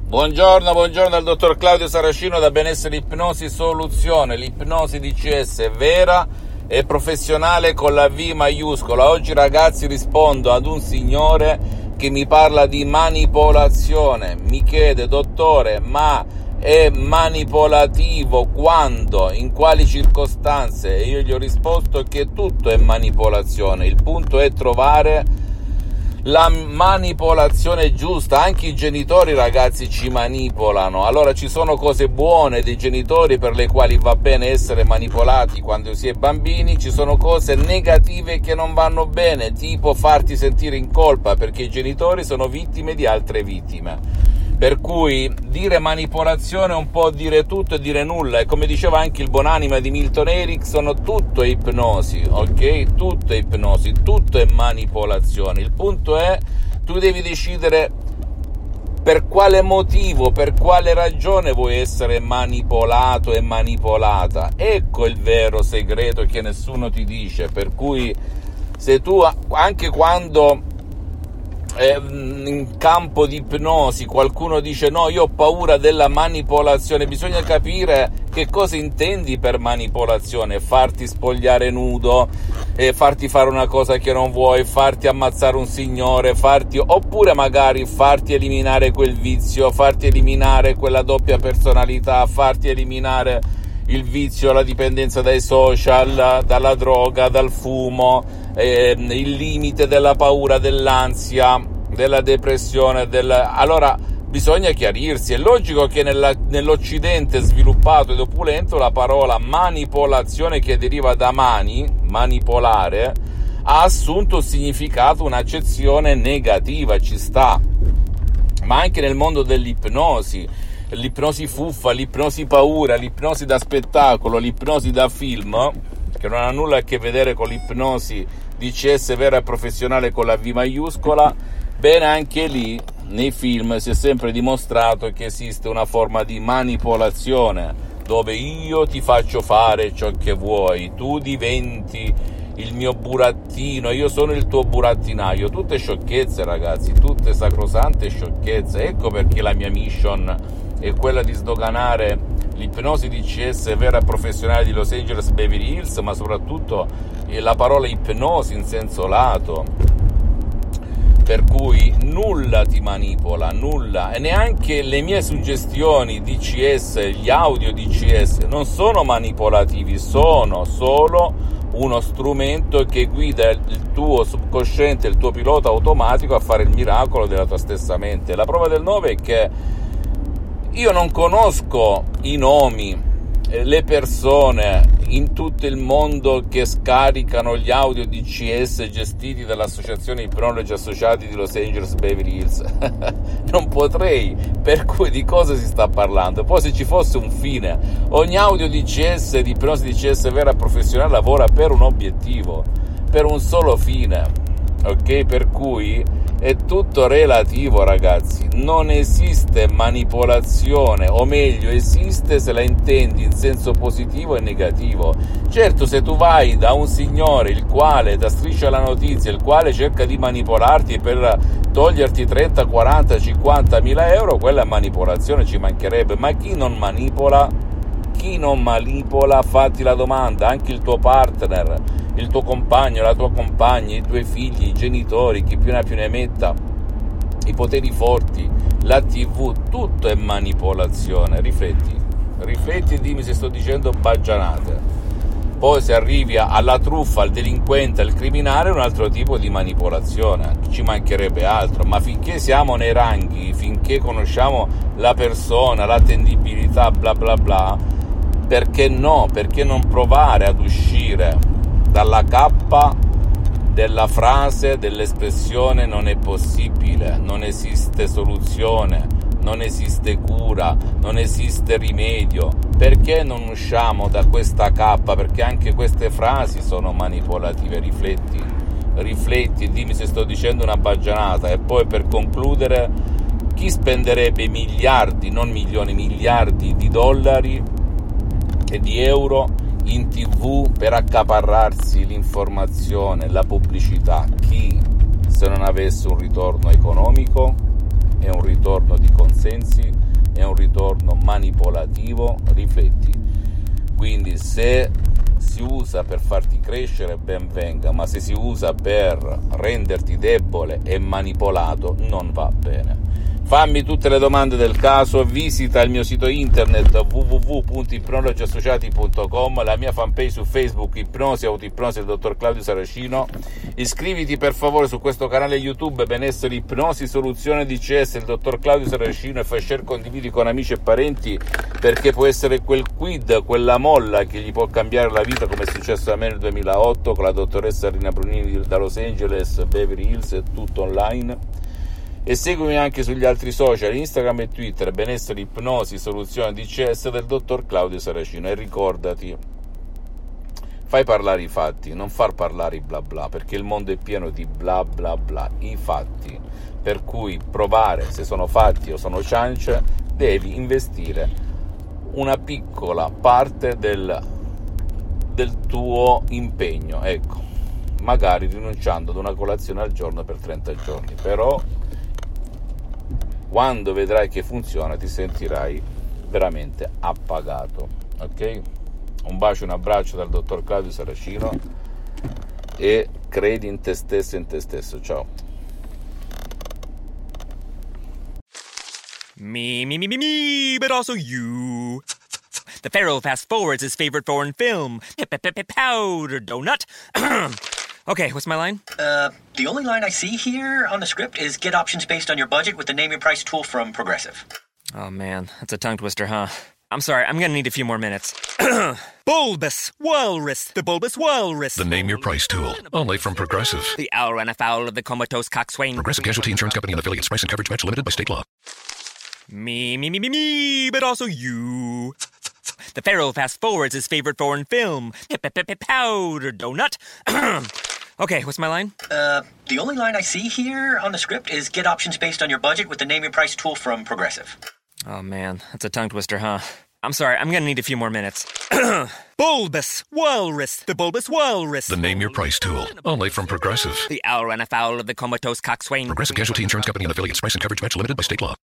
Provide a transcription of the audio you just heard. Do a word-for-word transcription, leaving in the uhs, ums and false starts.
Buongiorno, buongiorno dal dottor Claudio Saracino da Benessere Ipnosi Soluzione, l'ipnosi D C S vera e professionale con la V maiuscola. Oggi ragazzi rispondo ad un signore che mi parla di manipolazione, mi chiede: dottore, ma è manipolativo quando, in quali circostanze? E io gli ho risposto che tutto è manipolazione, il punto è trovare la manipolazione giusta. Anche i genitori ragazzi ci manipolano, allora ci sono cose buone dei genitori per le quali va bene essere manipolati quando si è bambini, ci sono cose negative che non vanno bene, tipo farti sentire in colpa perché i genitori sono vittime di altre vittime. Per cui dire manipolazione è un po' dire tutto e dire nulla, e come diceva anche il buonanima di Milton Erickson, tutto è ipnosi, ok? Tutto è ipnosi, tutto è manipolazione. Il punto è, tu devi decidere per quale motivo, per quale ragione vuoi essere manipolato e manipolata. Ecco il vero segreto che nessuno ti dice, per cui se tu, anche quando in campo di ipnosi qualcuno dice no, io ho paura della manipolazione, bisogna capire che cosa intendi per manipolazione: farti spogliare nudo, eh, farti fare una cosa che non vuoi, farti ammazzare un signore, farti, oppure magari farti eliminare quel vizio, farti eliminare quella doppia personalità, farti eliminare il vizio, la dipendenza dai social, dalla droga, dal fumo, eh, il limite della paura, dell'ansia, della depressione, del... allora bisogna chiarirsi. È logico che nella, nell'Occidente sviluppato ed opulento la parola manipolazione, che deriva da mani, manipolare, ha assunto un significato, un'accezione negativa, ci sta, ma anche nel mondo dell'ipnosi, l'ipnosi fuffa, l'ipnosi paura, l'ipnosi da spettacolo, l'ipnosi da film, che non ha nulla a che vedere con l'ipnosi D C S vera e professionale con la V maiuscola. Bene, anche lì nei film si è sempre dimostrato che esiste una forma di manipolazione dove io ti faccio fare ciò che vuoi, tu diventi il mio burattino, io sono il tuo burattinaio. Tutte sciocchezze ragazzi, tutte sacrosante sciocchezze. Ecco perché la mia mission è quella di sdoganare l'ipnosi D C S vera e professionale di Los Angeles Beverly Hills, ma soprattutto la parola ipnosi in senso lato, per cui nulla ti manipola, nulla, e neanche le mie suggestioni D C S, gli audio D C S non sono manipolativi, sono solo uno strumento che guida il tuo subconsciente, il tuo pilota automatico a fare il miracolo della tua stessa mente. La prova del nove è che io non conosco i nomi, le persone in tutto il mondo che scaricano gli audio D C S gestiti dall'associazione Ipnologi Associati di Los Angeles Beverly Hills. Non potrei, per cui di cosa si sta parlando? Poi se ci fosse un fine, ogni audio D C S di ipnosi D C S vera professionale lavora per un obiettivo, per un solo fine, ok? Per cui è tutto relativo ragazzi, non esiste manipolazione, o meglio esiste se la intendi in senso positivo e negativo. Certo, se tu vai da un signore il quale da striscia la notizia, il quale cerca di manipolarti per toglierti trenta, quaranta, cinquanta mila euro, quella è manipolazione, ci mancherebbe. Ma chi non manipola? Chi non manipola? Fatti la domanda. Anche il tuo partner, il tuo compagno, la tua compagna, i tuoi figli, i genitori, chi più ne ha più ne metta, i poteri forti, la tivù, tutto è manipolazione. Rifletti, rifletti e dimmi se sto dicendo baggianate. Poi se arrivi alla truffa, al delinquente, al criminale, è un altro tipo di manipolazione, ci mancherebbe altro. Ma finché siamo nei ranghi, finché conosciamo la persona, l'attendibilità, bla bla bla, perché no? Perché non provare ad uscire dalla cappa della frase, dell'espressione non è possibile, non esiste soluzione, non esiste cura, non esiste rimedio. Perché non usciamo da questa cappa? Perché anche queste frasi sono manipolative. Rifletti, rifletti e dimmi se sto dicendo una baggianata. E poi, per concludere, chi spenderebbe miliardi, non milioni, miliardi di dollari e di euro in tivù per accaparrarsi l'informazione, la pubblicità? Chi, se non avesse un ritorno economico? è un ritorno di consensi, è un ritorno manipolativo, rifletti. Quindi se si usa per farti crescere, ben venga, ma se si usa per renderti debole e manipolato, non va bene. Fammi tutte le domande del caso, visita il mio sito internet w w w punto ipnologi associati punto com, la mia fanpage su Facebook Ipnosi Autoipnosi del dottor Claudio Saracino. Iscriviti per favore su questo canale YouTube Benessere Ipnosi Soluzione D C S del dottor Claudio Saracino e fai share, condividi con amici e parenti, perché può essere quel quid, quella molla che gli può cambiare la vita, come è successo a me nel duemilaotto con la dottoressa Rina Brunini da Los Angeles, Beverly Hills, e tutto online. E seguimi anche sugli altri social, Instagram e Twitter, Benessere Ipnosi Soluzione D C S del dottor Claudio Saracino. E ricordati, fai parlare i fatti, non far parlare i bla bla, perché il mondo è pieno di bla bla bla, i fatti. Per cui provare se sono fatti o sono ciance, devi investire una piccola parte del, del tuo impegno, ecco, magari rinunciando ad una colazione al giorno per trenta giorni, però quando vedrai che funziona ti sentirai veramente appagato, ok? Un bacio, un abbraccio dal dottor Claudio Saracino e credi in te stesso e in te stesso. Ciao. Me, me, me, me, me, but also you. The Pharaoh fast forwards his favorite foreign film, Powder Donut. Okay, what's my line? Uh, the only line I see here on the script is get options based on your budget with the Name Your Price tool from Progressive. Oh man, that's a tongue twister, huh? I'm sorry, I'm gonna need a few more minutes. Bulbous Walrus, the Bulbous Walrus. The Name Your Price tool, only from Progressive. The owl ran afoul of the comatose coxswain. Progressive Casualty Insurance Company and affiliates. Price and coverage match limited by state law. Me, me, me, me, me, but also you. The Pharaoh fast forwards his favorite foreign film, Powder Donut. Okay, what's my line? Uh, the only line I see here on the script is get options based on your budget with the Name Your Price tool from Progressive. Oh man, that's a tongue twister, huh? I'm sorry, I'm gonna need a few more minutes. Bulbous Walrus, the Bulbous Walrus. The Name Your Price tool, only from Progressive. The owl ran afoul of the comatose coxswain. Progressive Casualty Insurance Company and affiliates. Price and coverage match limited by state law.